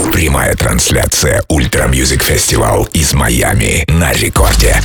Прямая трансляция Ультра Мьюзик Фестивал из Майами на рекорде.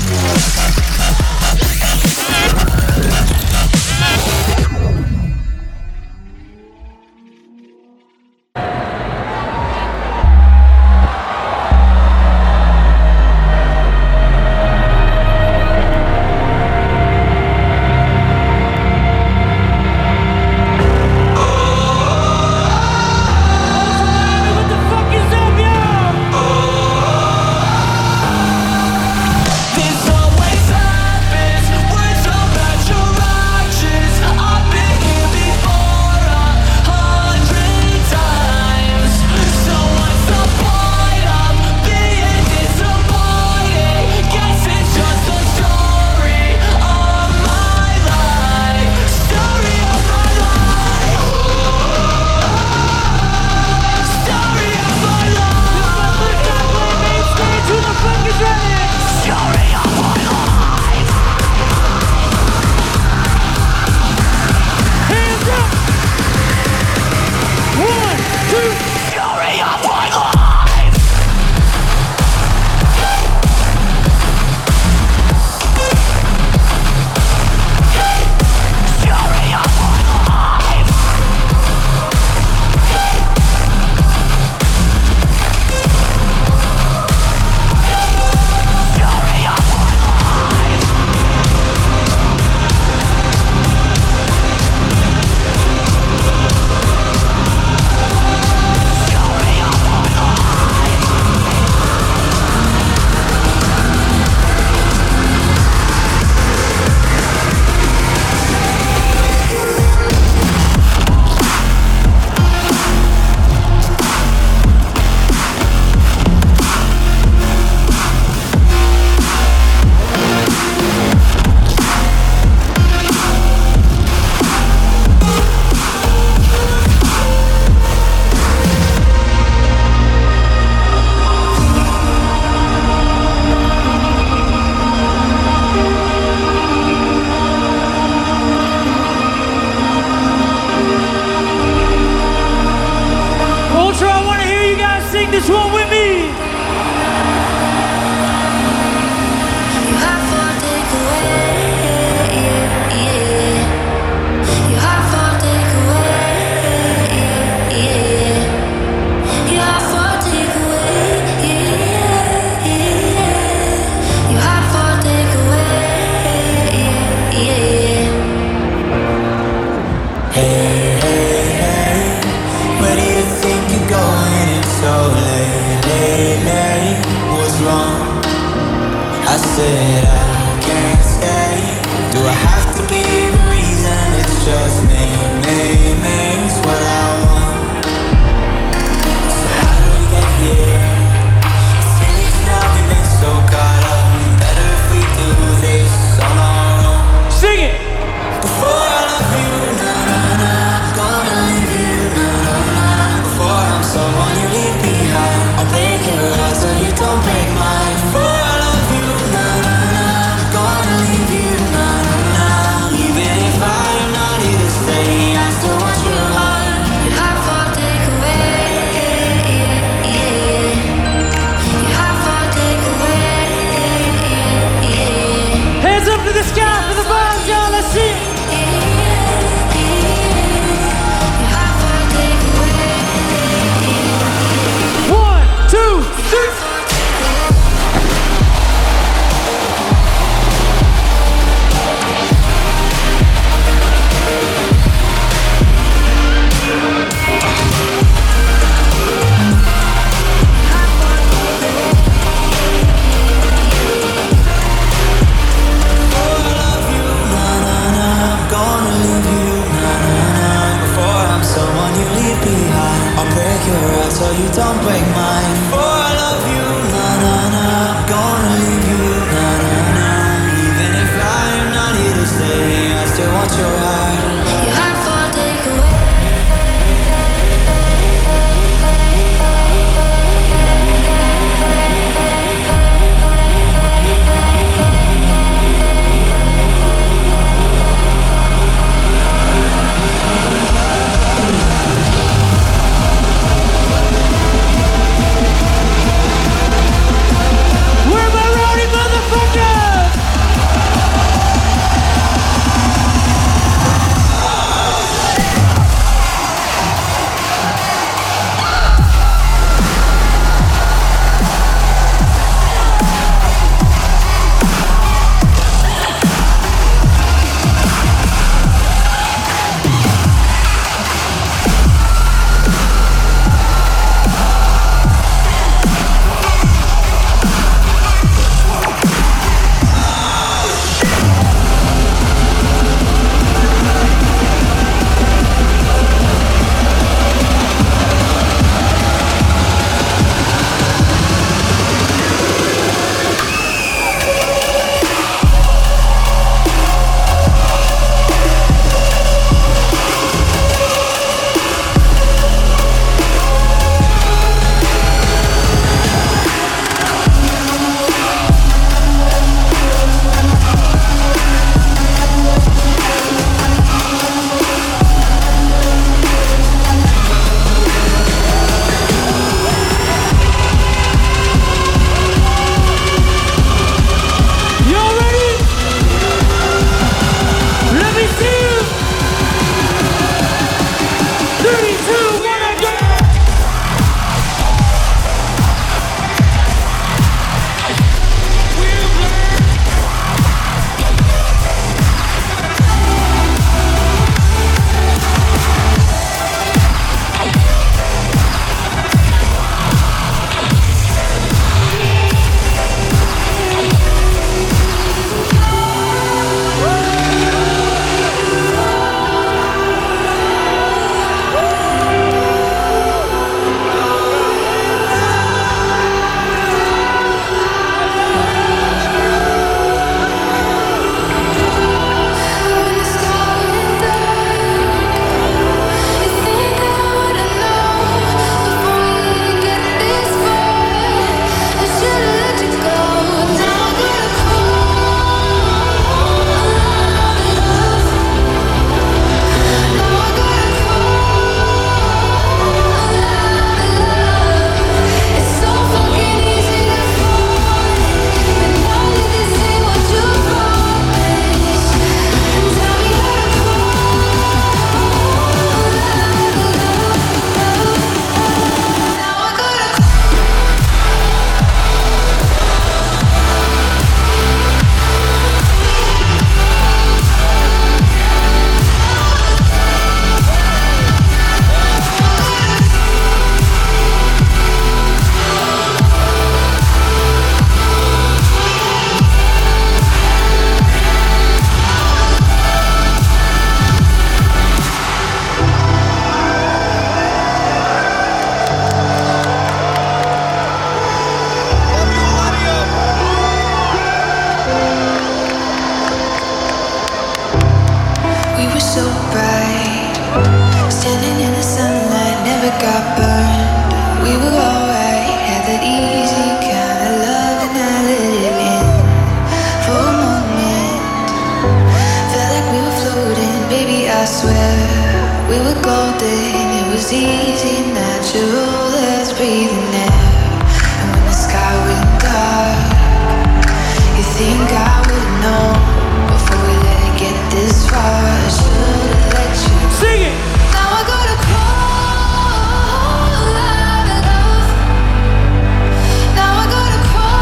breathing air. And when the sky went dark, you think I would've known before we let it get this far. I should've let you sing it. Now I gotta crawl out of love. Now I gotta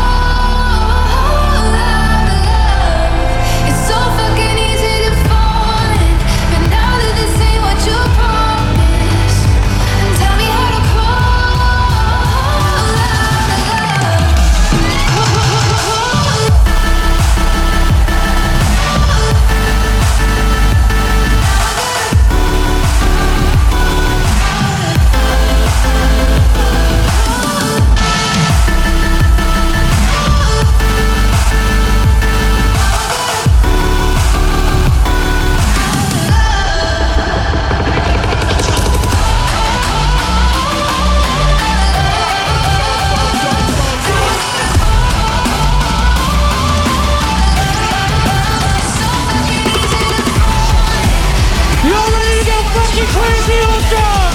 crawl out of love. It's so fucking easy to fall in, but now that this ain't what you promised, tell me how to crawl out of love. Y'all ready to get fucking crazy on drugs?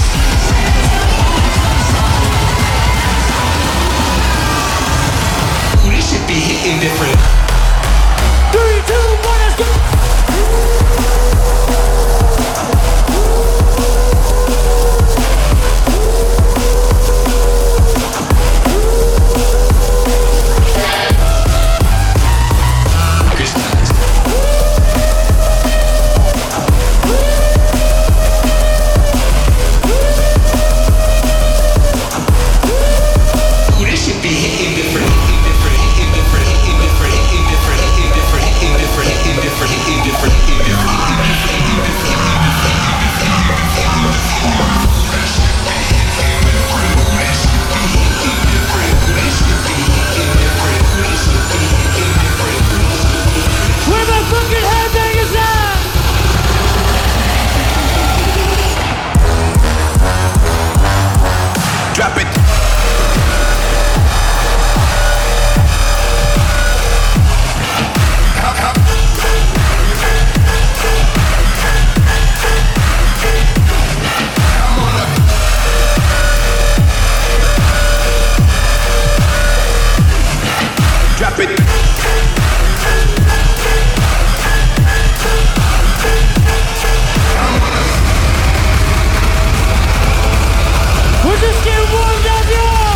This should be hitting different. 3, 2, 1, let's go! This should be hitting different. Hitting different. Hitting different. Hitting different. Hitting different. Hitting different. Hitting different. Hitting different. Hitting different. Hitting Where my fucking headbangers at? Drop it. Drop it. We're just getting warmed up, y'all!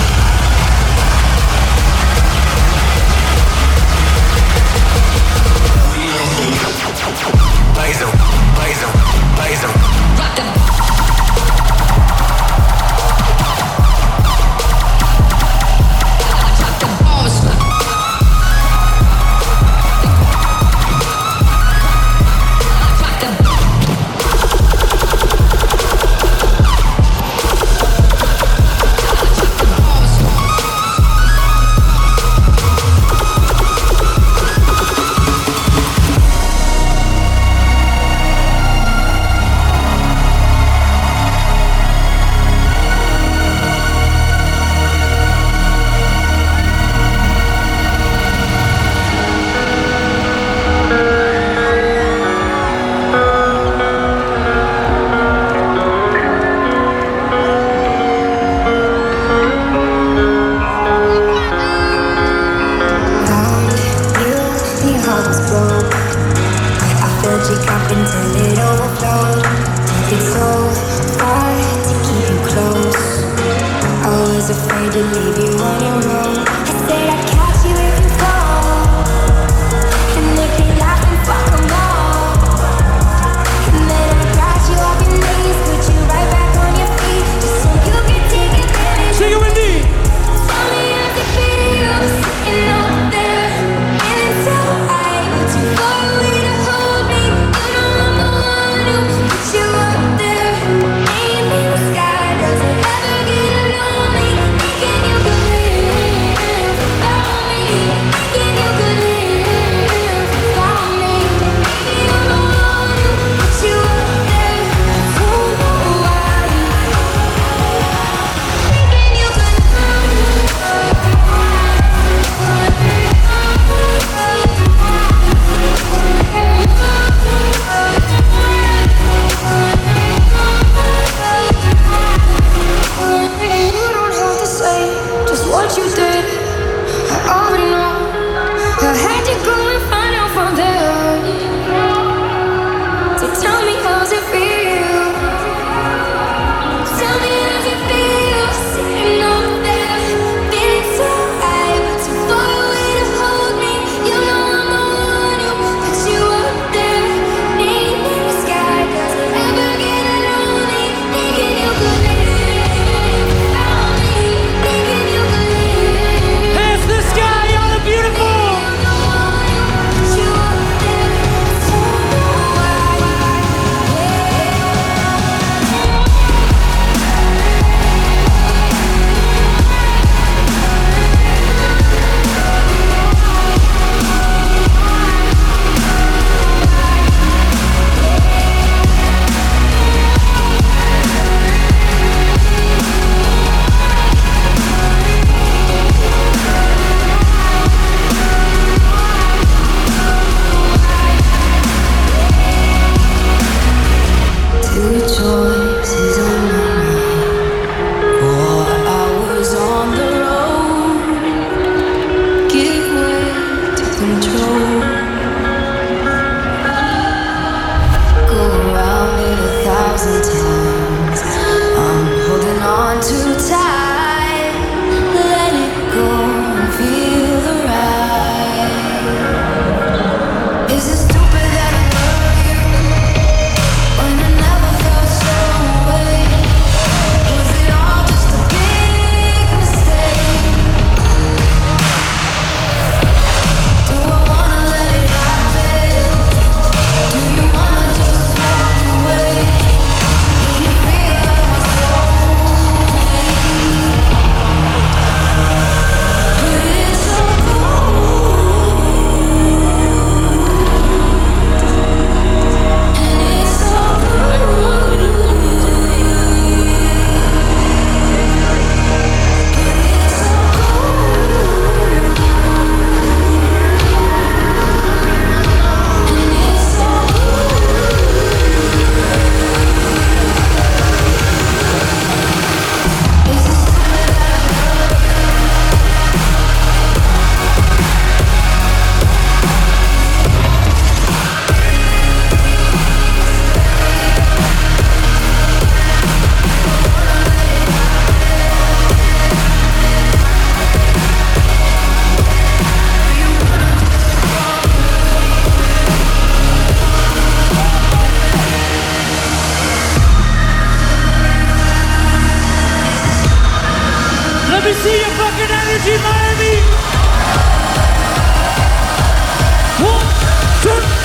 Blaze 'em, blaze 'em, blaze 'em. Sky doesn't ever get lonely, making you believe. Let me see your fucking energy, Miami! 1, 2.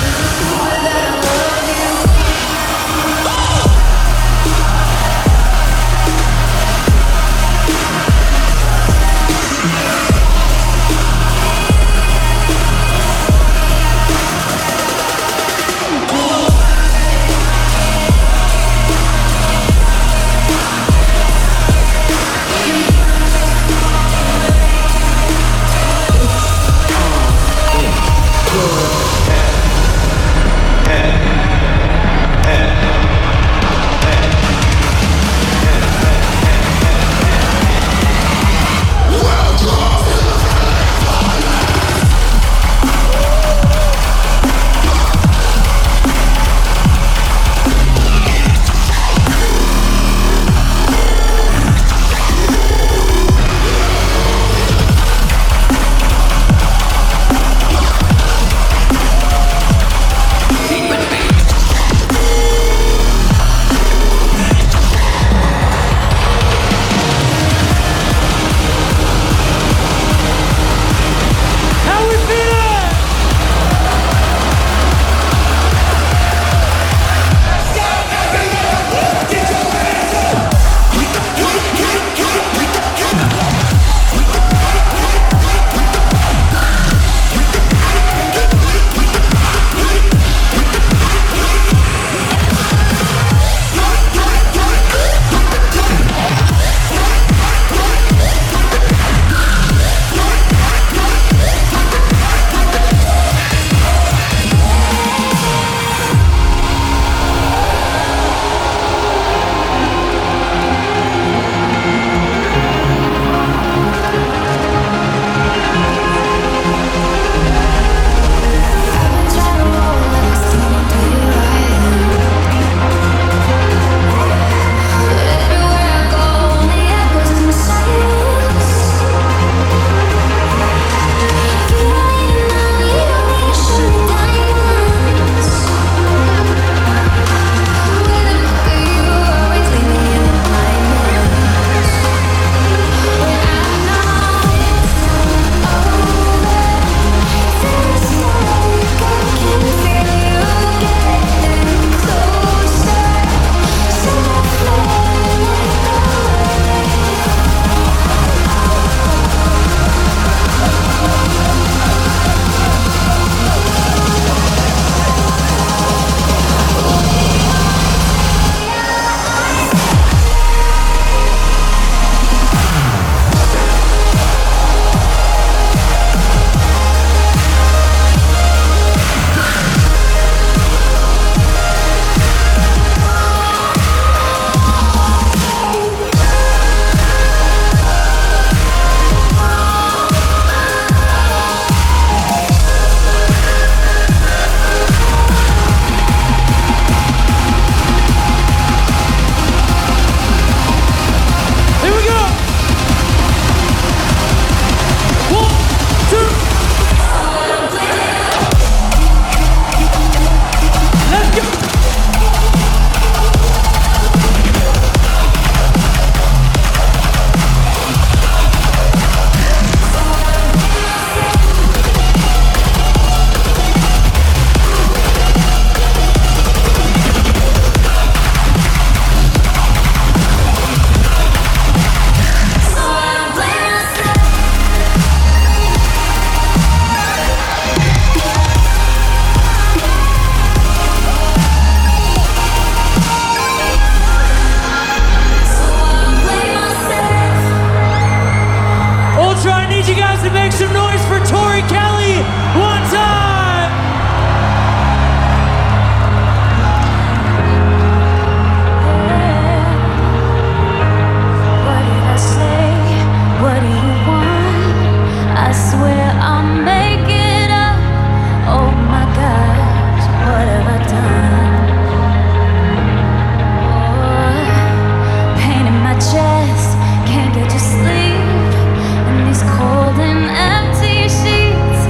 Can't get to sleep in these cold and empty sheets.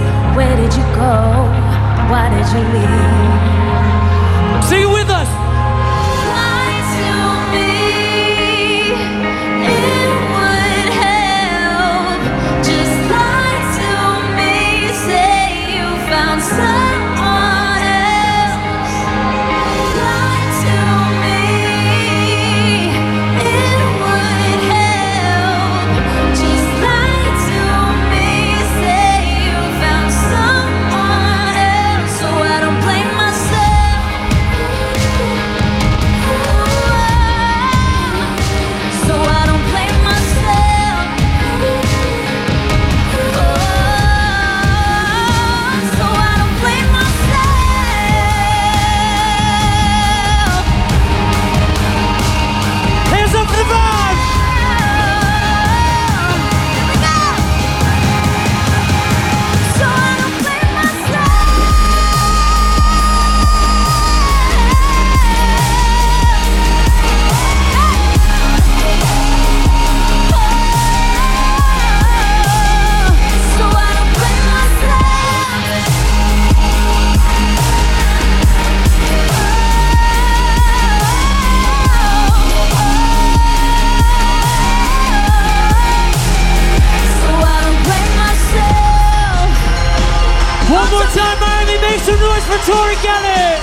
one time, Miami, make some noise for Tori Kelly.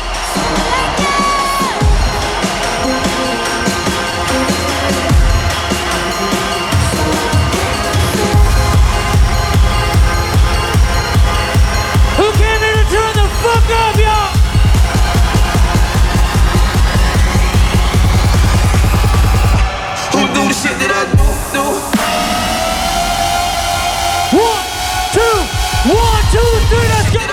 Who came here to turn the fuck up, y'all? Who do the shit that I do? 1, 2, 3, let's go!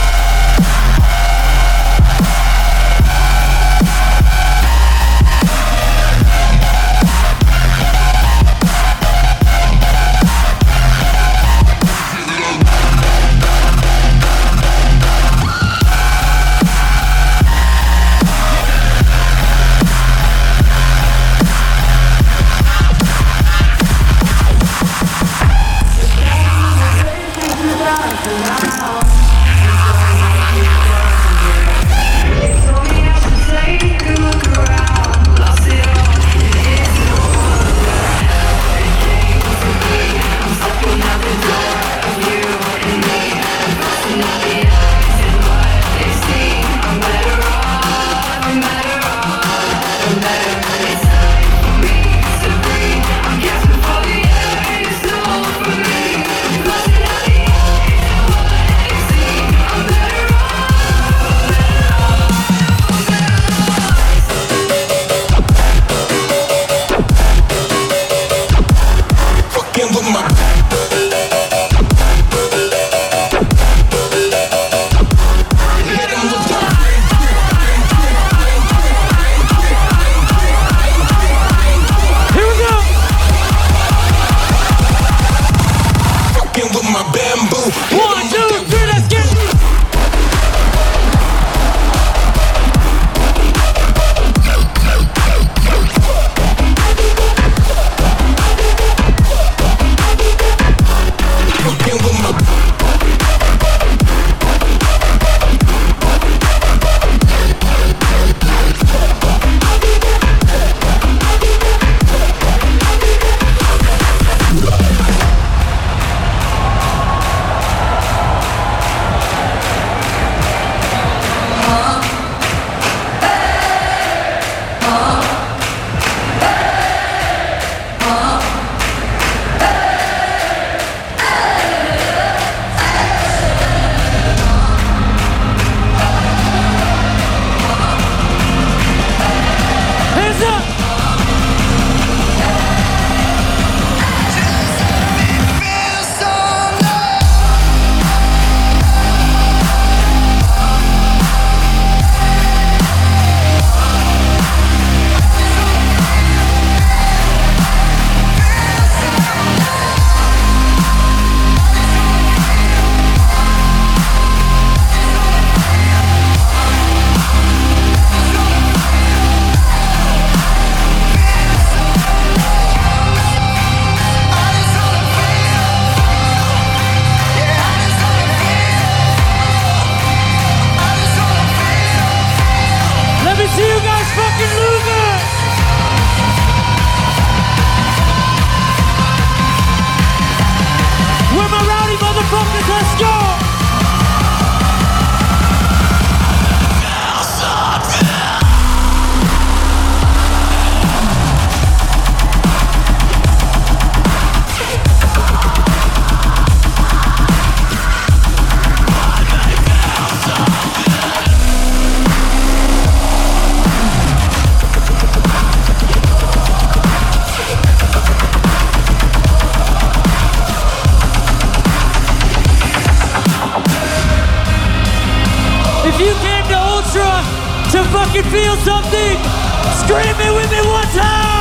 fucking feel something, scream it with me one time.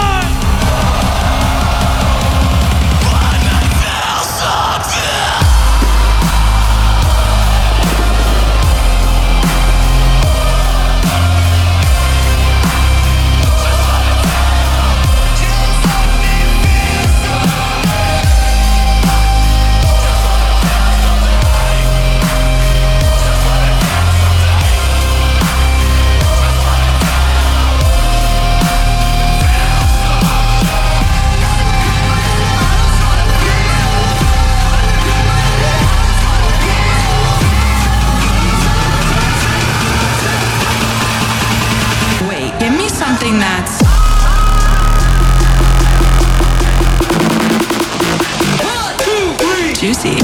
juicy.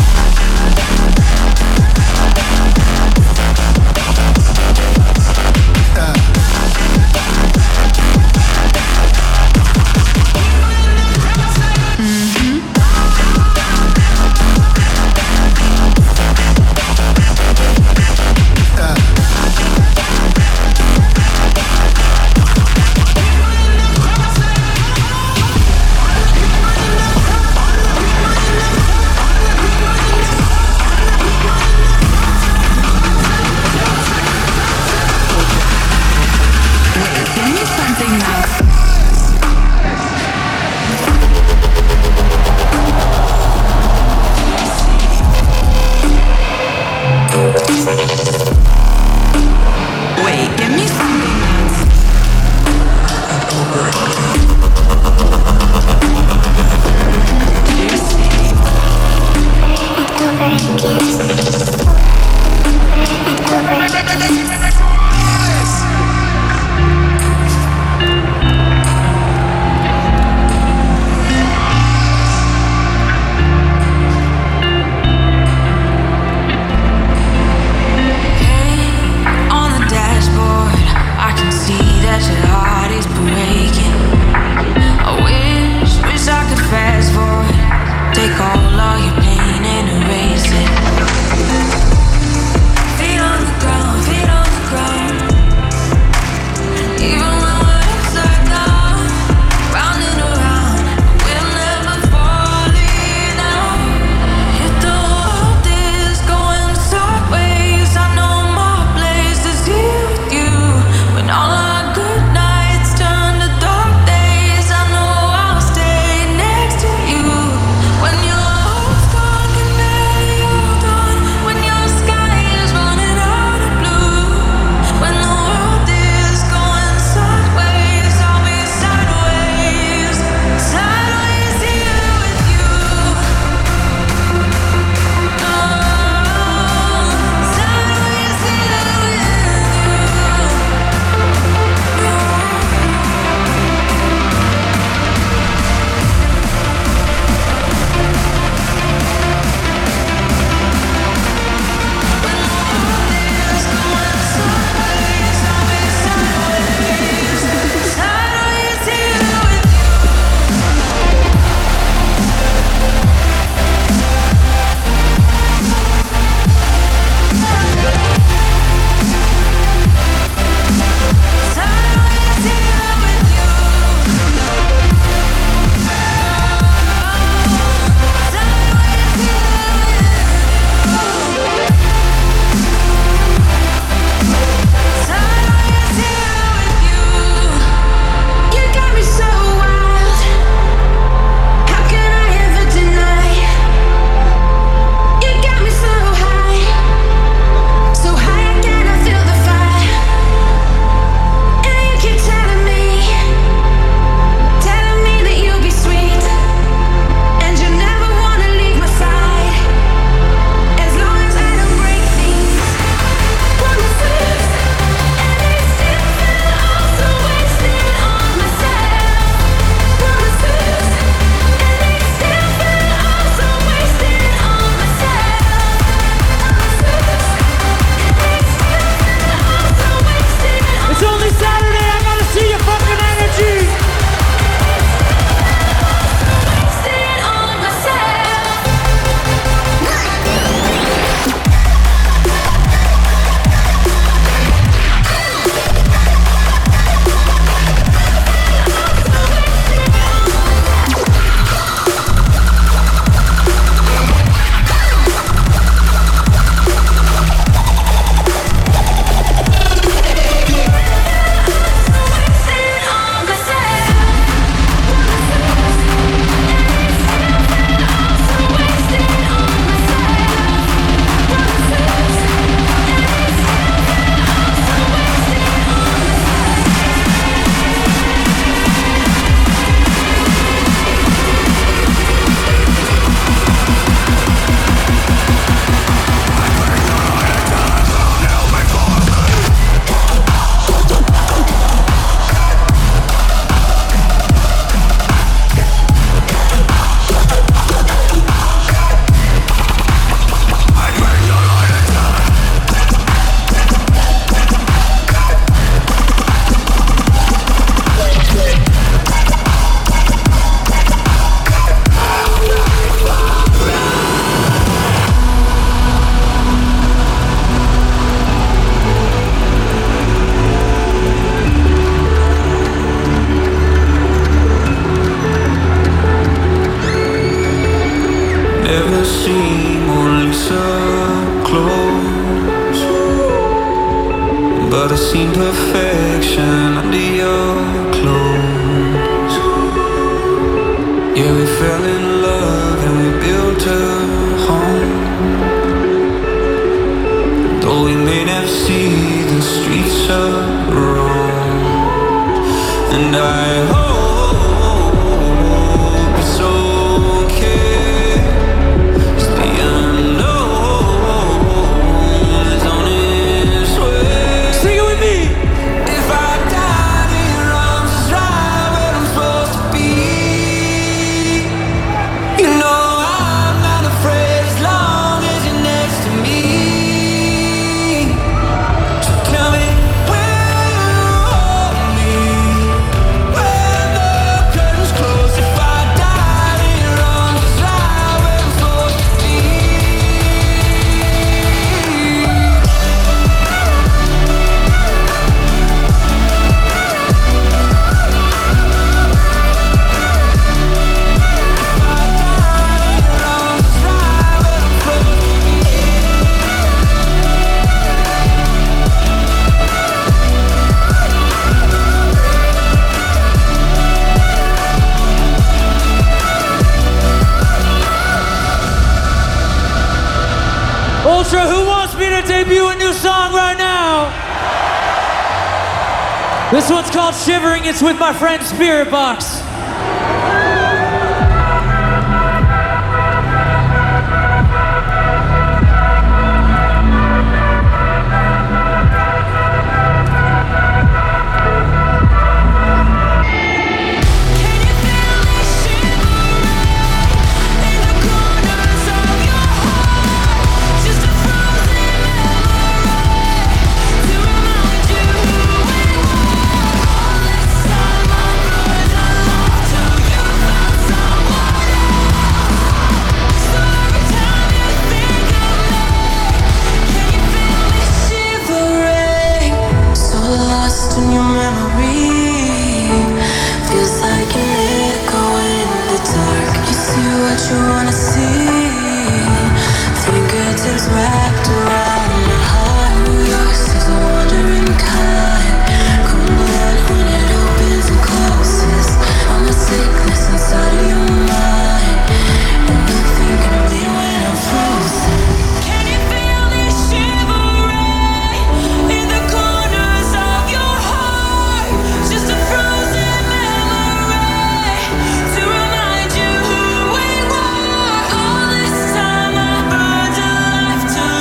seem only so close, but I seen perfection under your clothes. Yeah, we fell in love and we built a home. Though we may never see the streets of Rome, and I hope it's okay, 'cause the unknown is on its way. Sing it with me. If I died in your arms, is right where I'm supposed to be. You know I'm not afraid as long as you're next to me. So tell me, will you hold me when the curtains close? If I died in your arms, is right where I'm supposed to be. Ultra, who wants me to debut a new song right now? This one's called Shivering. It's with my friend Spirit Box. So lost in your memory, feels like an echo in the dark. You see what you wanna see, fingertips wrapped around my heart. Yours is a wandering kind, cold blood when it opens and closes. I'm a sickness inside of your mind, and you're thinking of me when I'm frozen. Can you feel me shivering in the corners of your heart? Just a frozen memory to remind you who we were. All this time I burned a life to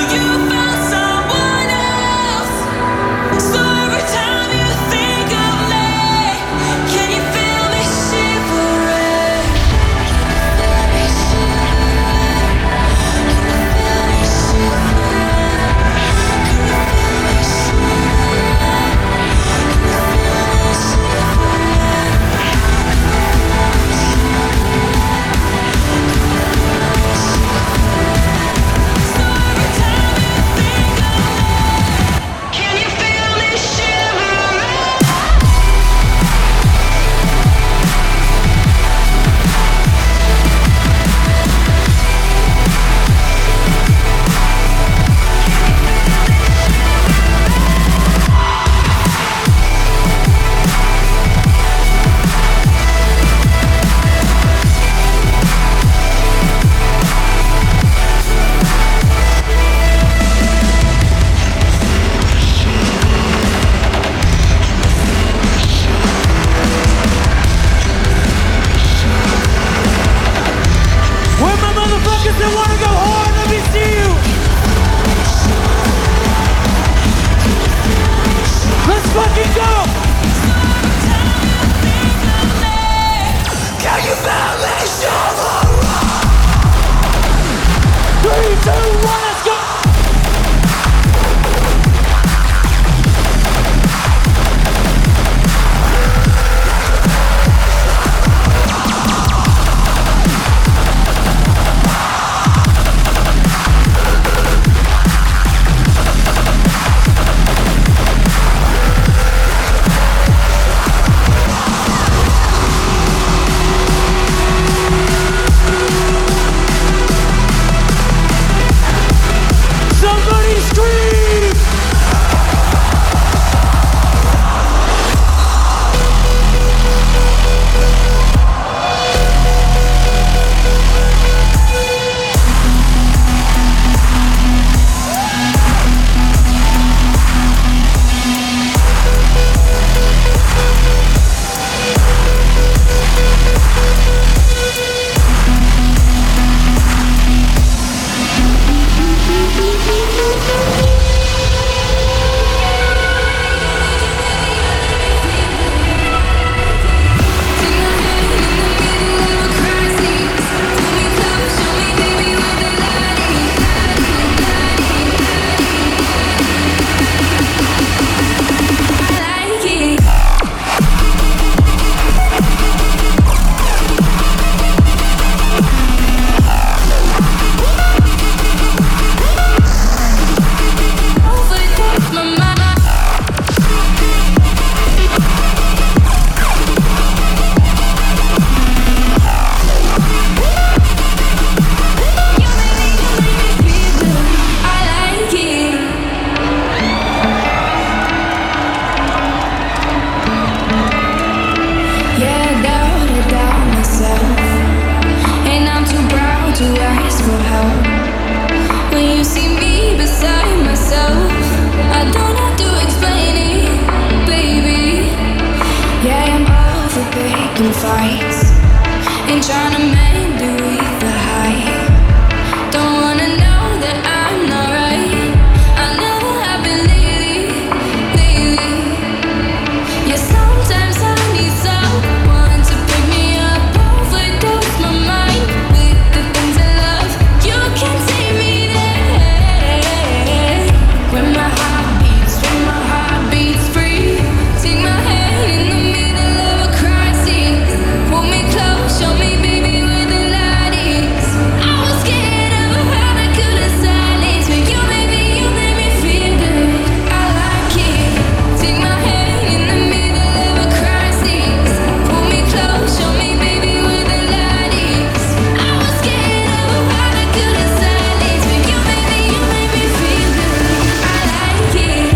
to ask for help. When you see me beside myself, I don't have to explain it, baby. Yeah, I'm all for picking fights and trying to mend it with the hype. Don't wanna know that I'm not right. I never have been lately. Yeah, sometimes I need someone to pick me up, overdose my mind with the things I love. You can take me there. When my heart beats free. Take my hand in the middle of a crisis. Pull me close, show me, baby, where the light is. I was scared of how I could have silenced, but you made me feel good. I like it. Take my hand in the middle of a crisis. Pull me close, show me, baby, where the light is. I was scared of how I could have silenced, but you made me feel good. I like it.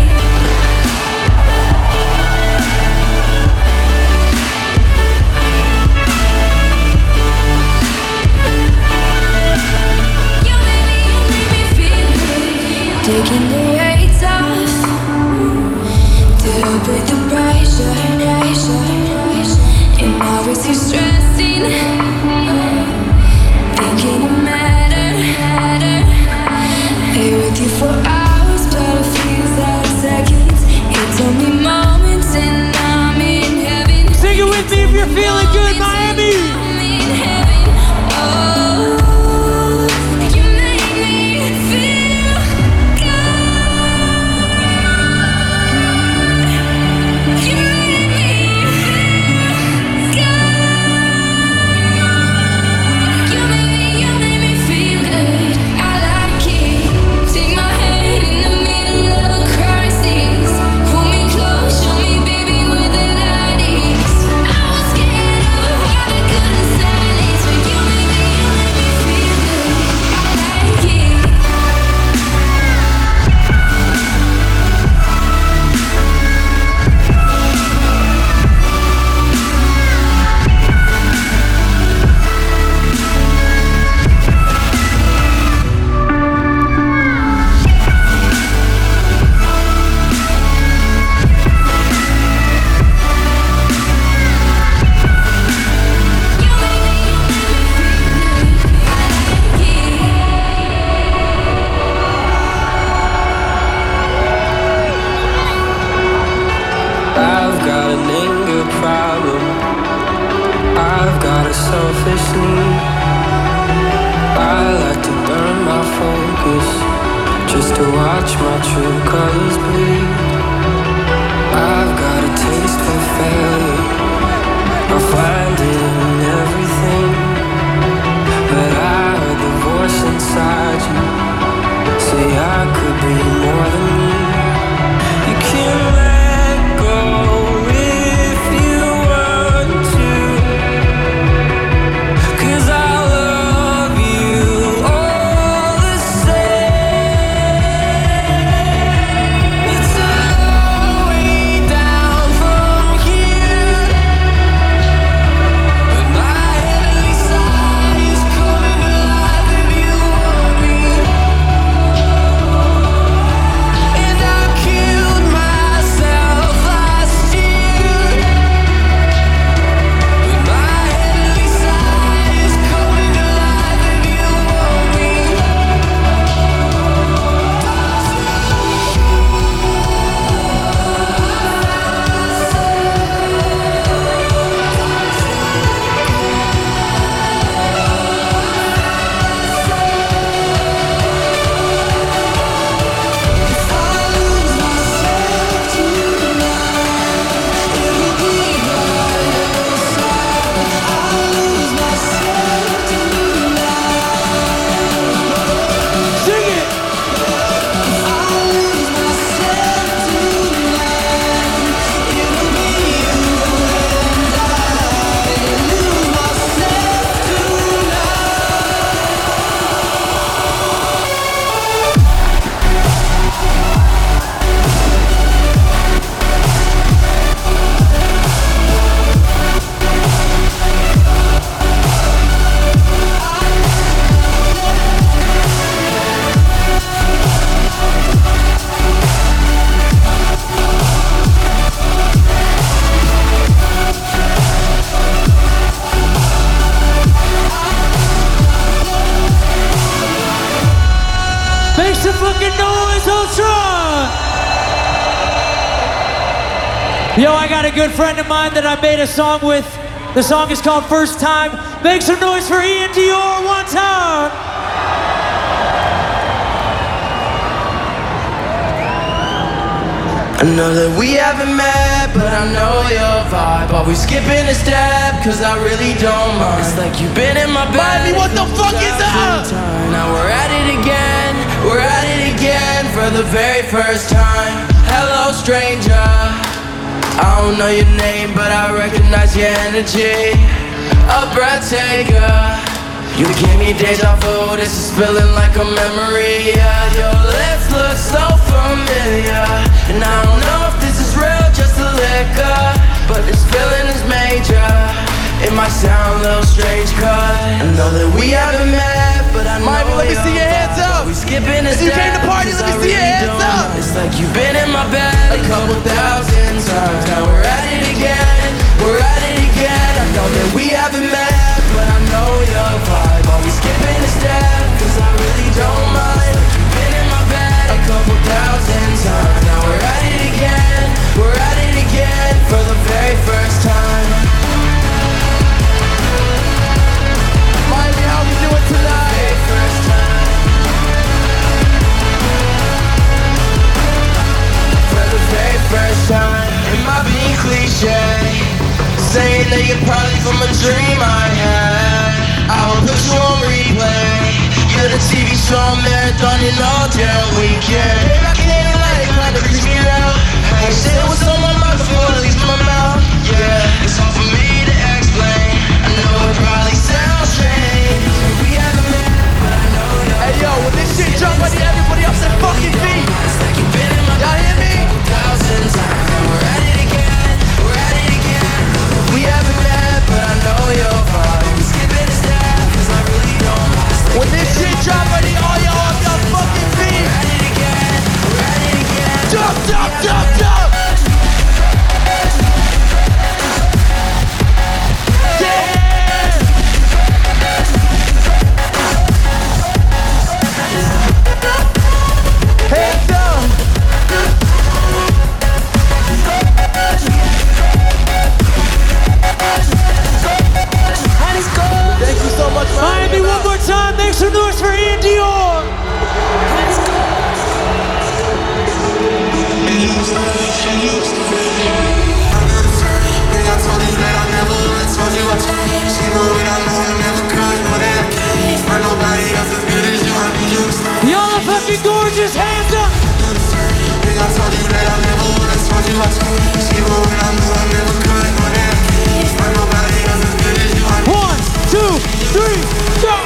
You made me feel good. Taking the weights off to help with the pressure. And now it's you stressing, thinking it matter. Lay with you for hours, but it feels like seconds. It took me moments and I'm in heaven. Sing it with me if you're feeling good, Miami. I'm in heaven. Oh, you make me feel good. You make me feel good. You make me feel good. I like it. Take my hand in the middle of a crisis. Pull me close, show me, baby, where the light is. I was scared of how I could have silenced, but you make me feel good. I like it. I've got an anger problem. I've got a selfish need. I like to burn my focus just to watch my true colors bleed. I've got a taste for failure. I find it in everything. But I heard the voice inside you say I could be more than me. You can let go if you want to, 'cause I love you all the same. It's a long way down from here some fucking noise, Ultron! Yo, I got a good friend of mine that I made a song with. The song is called First Time. Make some noise for Ian Dior one time. I know that we haven't met, but I know your vibe. Always skipping a step, cause I really don't mind. It's like you've been in my bed. Bobby, what the fuck is that? Now we're at it again, we're at it again for the very first time. Hello, stranger. I don't know your name, but I recognize your energy. A breath taker. You give me deja vu, this is feeling like a memory. Yeah, your lips look so familiar, and I don't know if this is real, just a liquor, but this feeling is major. It might sound a little strange, cause I know that we haven't met, but I know Miami, let me see your hands up. we skipping a If you step, came to party, let me 'cause I see your really hands don't up. know. It's like you've been in my bed a couple thousand times. Now we're at it again, we're at it again. I know that we haven't met, but I know your vibe. Always skipping a step, cause I really don't mind. You've been in my bed a couple thousand times. Now we're at it again, we're at it again for the very first time. Miami, how we doing tonight? Very first time. For the very first time. It might be cliche, saying that you're probably from a dream I had. I will put you on replay. You're the TV show marathoning all damn weekend. Babe, I can't let it kind of reach me out. Hey, say what's on my mind before it leaves my mouth. Yeah, it's hard for me to explain. I know it probably sounds strange. We haven't met, but I know you're Hey yo, when this shit drop, I need everybody off their fucking feet. it's like you've been in my Y'all hear me? thousand times. We're at it again, we're at it again. We haven't met, but I know your vibe. We skipping a step, cause I really don't mind. It's like When this shit drop, I need all y'all off your fucking feet. we're at it again, we're at it again. Jump, jump, jump, jump. Hands up. Thank you so much, Miami, one more time. Make some noise for Ian Dior. Y'all are fucking gorgeous. Hands up. One, two, three, go.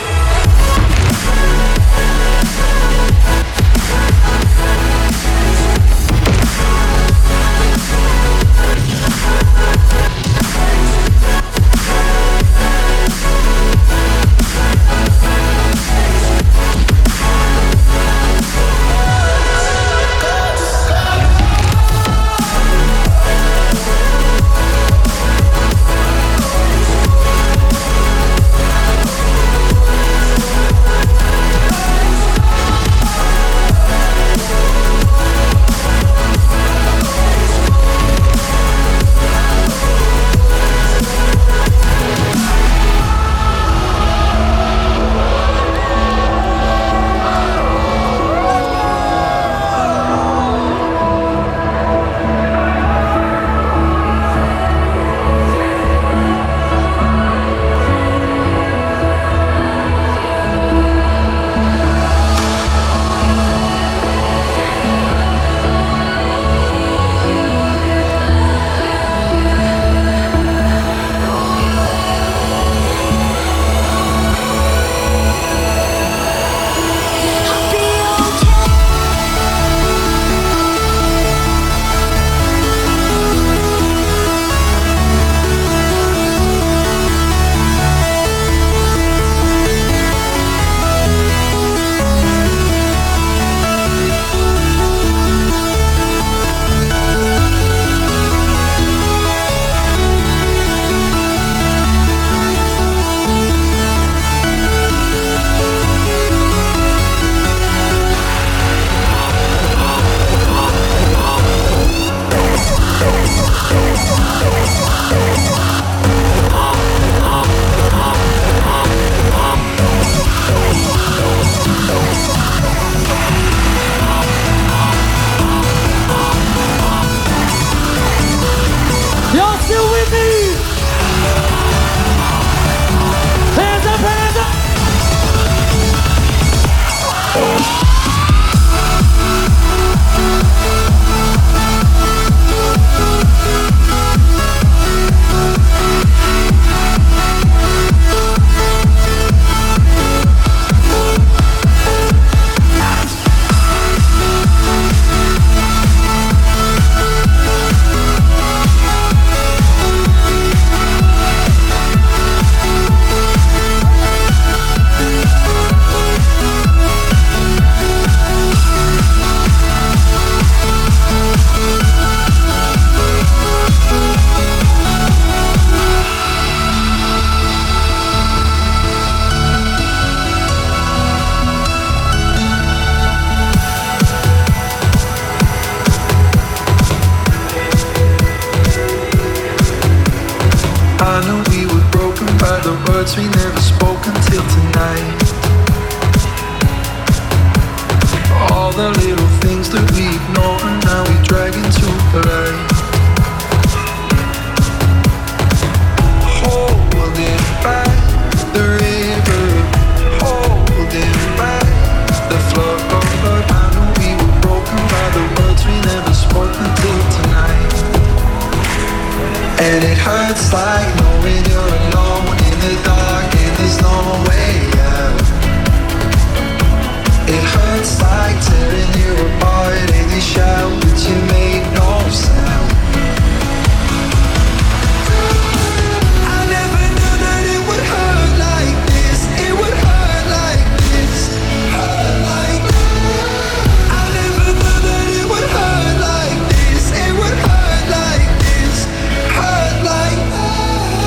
words we never spoke until tonight. All the little things that we ignore and now we drag into the light. Holding back the river, holding back the flood. I knew we were broken by the words we never spoke until tonight. And it hurts like knowing you're alone in the dark and there's no way out. It hurts like tearing you apart and you shout but you made no sound. I never knew that it would hurt like this. It would hurt like this. Hurt like this. I never knew that it would hurt like this. It would hurt like this. Hurt like this.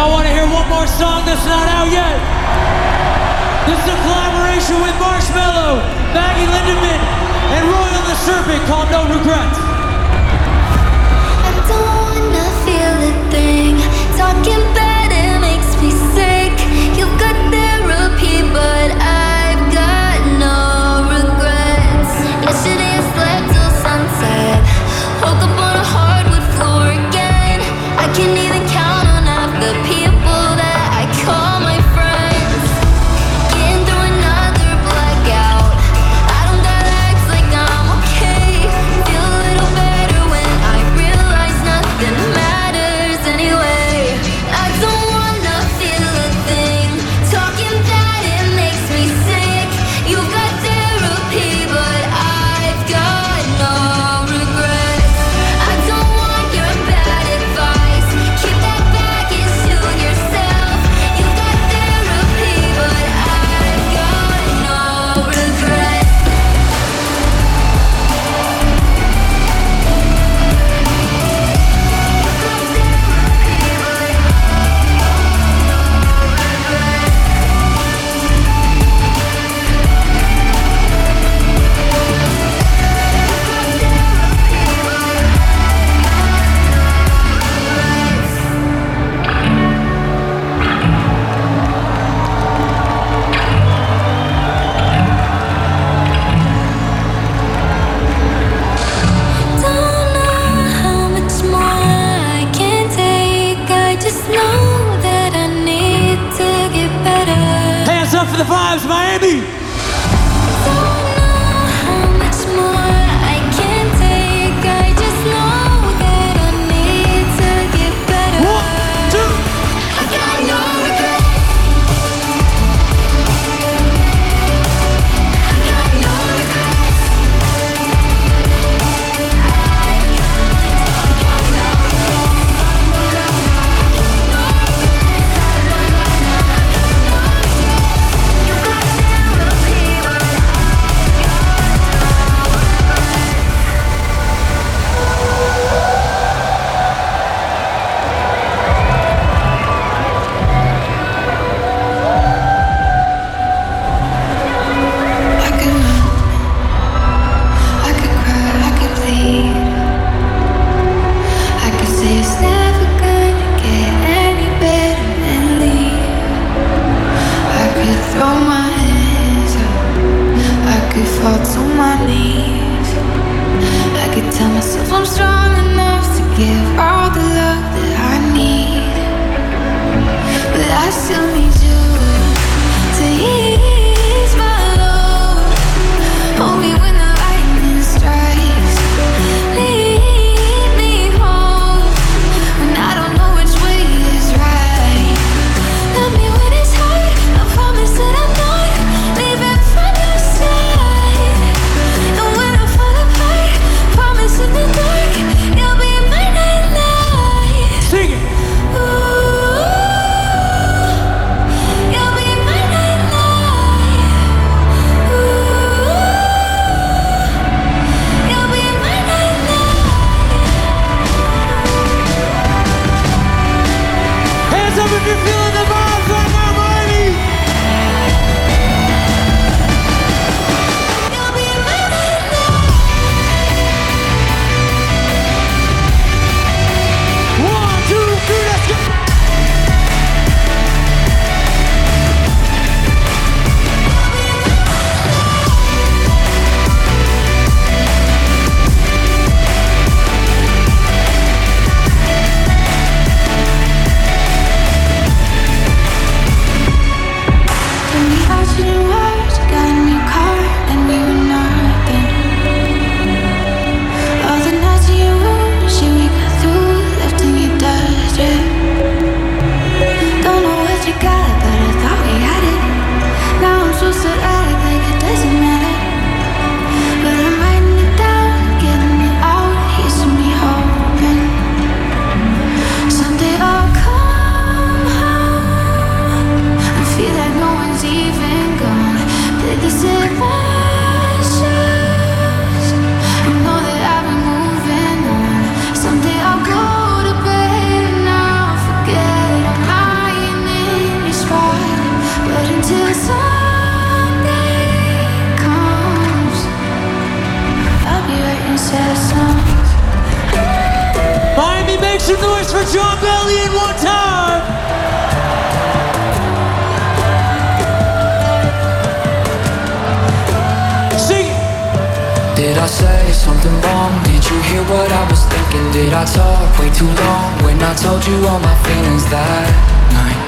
Y'all want to hear one more song that's not out yet? This is a collaboration with Marshmello, Maggie Lindemann, and Royal the Serpent called No Regrets. I don't wanna feel a thing. Talking bad, it makes me sick. You've got therapy, but I've got no regrets. Yesterday I slept till sunset. Woke up on a hardwood floor again. I can't even count on half the people that I call my friends. Getting through another blackout. I don't gotta act like I'm okay. Feel a little better when I realize nothing matters anyway. I don't wanna feel a thing. Talking bad, it makes me sick. You've got therapy, but I've got no regrets. I don't want your bad advice. Keep that baggage to yourself. You've got therapy, but I've got no regrets. Don't know how much more I can take. I just know that I need to get better. Hands up for the vibes, Miami. Don't know how much more I can take. I just know that I need to get better. 1, 2. I got no regrets. I got no regrets. I could run, I could cry, I could bleed. I could say it's never gonna get any better than leave. I could throw my hands up, I could fall to my knees. I could tell myself I'm strong enough to give all the love that I need. But I still need you to ease my load. Hold me when the lightning strikes. Lead me home when I don't know which way is right. Love me when it's hard. I promise that I'm not leaving from your side. And when I fall apart, promise in the dark you'll be my nightlight. Sing it. Ooh. for John Bellion one time. Sing it. Did I say something wrong? Did you hear what I was thinking? Did I talk way too long when I told you all my feelings that night?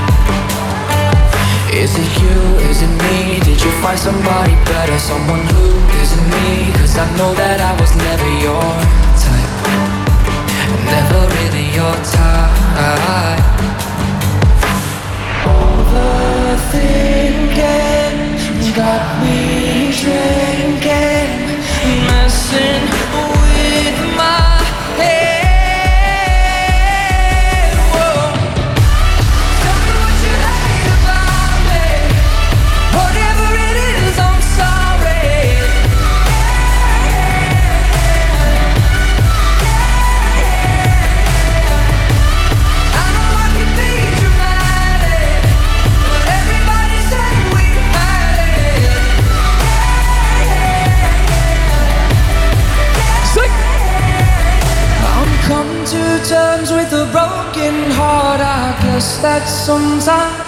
Is it you? Is it me? Did you find somebody better? Someone who isn't me? 'Cause I know that I was never your type. Never really your type. Overthinking got me drinking, messing with my head. Whoa. Tell me what you hate about me. Whatever it is, I'm sorry. I know I can be dramatic, but everybody said we had it. I'm come to terms with a broken heart. I guess that sometimes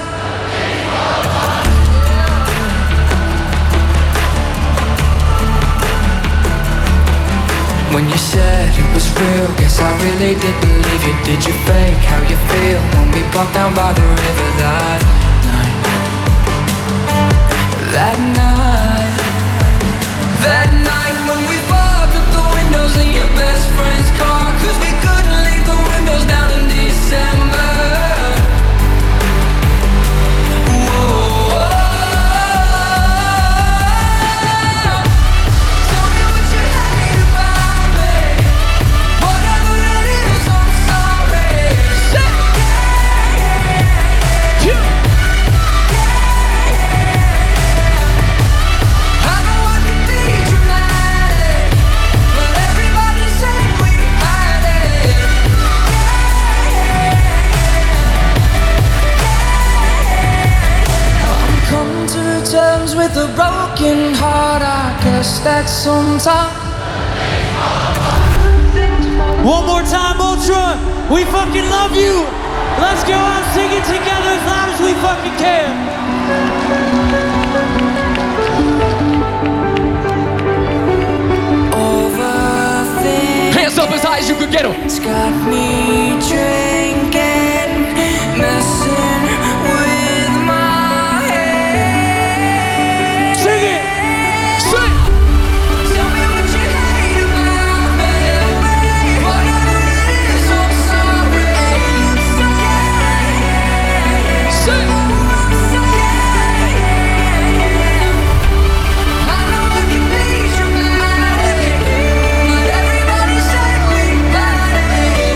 when you said it was real, guess I really did believe you. Did you fake how you feel when we walked down by the river that night? That night, that night when we fogged up the windows in your best friend's car, 'cause we couldn't leave the windows down in December. Whoa. Tell me what you hate about me. Whatever it is, I'm sorry. I know I can be dramatic, but everybody said we had it. I'm come to terms with a broken heart. I guess that sometimes One more time, Ultra. We fucking love you. Let's go out singing together as loud as we fucking can. overthink. Hands up as high as you could get them. It's got me drinking, messing with my head. Sing it. Sing. Tell me what you hate about me. Whatever it is, I'm sorry. Sing. I know I can be dramatic, but everybody said we had it.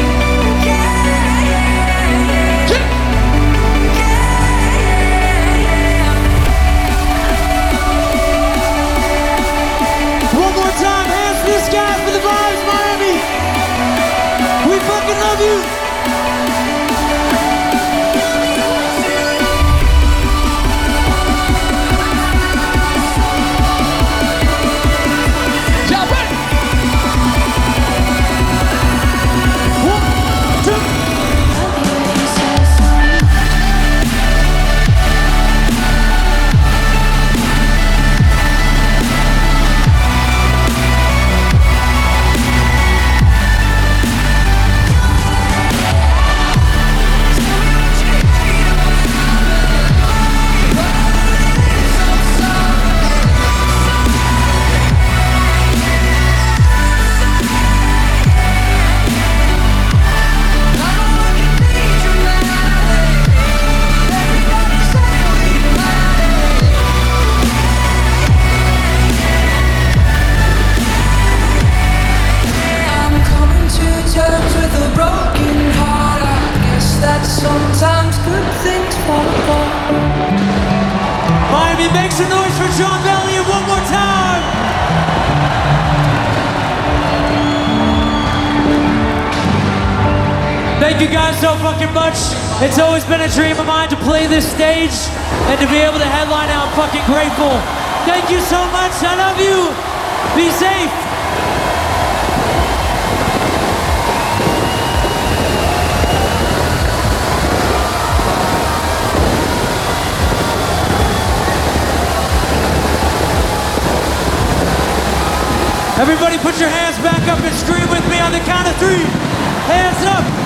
One more time, hands to the sky for the vibes, Miami. We fucking love you. Y'all ready? One, two. I'm coming to terms with a broken heart. I guess that sometimes good things fall apart. Miami, make some noise for John Bellion one more time. Thank you guys so fucking much. It's always been a dream of mine to play this stage and to be able to headline out. I'm fucking grateful. Thank you so much. I love you. Be safe. Everybody put your hands back up and scream with me on the count of 3. Hands up.